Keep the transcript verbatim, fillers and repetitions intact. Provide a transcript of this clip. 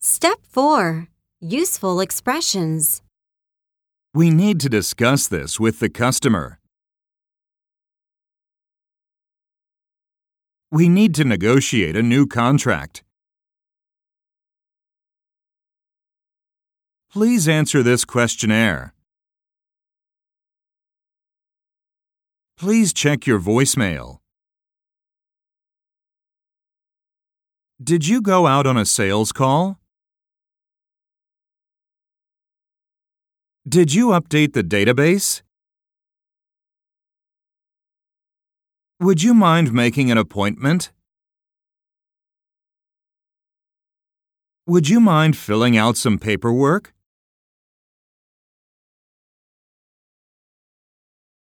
Step four. Useful expressions. We need to discuss this with the customer. We need to negotiate a new contract. Please answer this questionnaire. Please check your voicemail. Did you go out on a sales call? Did you update the database? Would you mind making an appointment? Would you mind filling out some paperwork?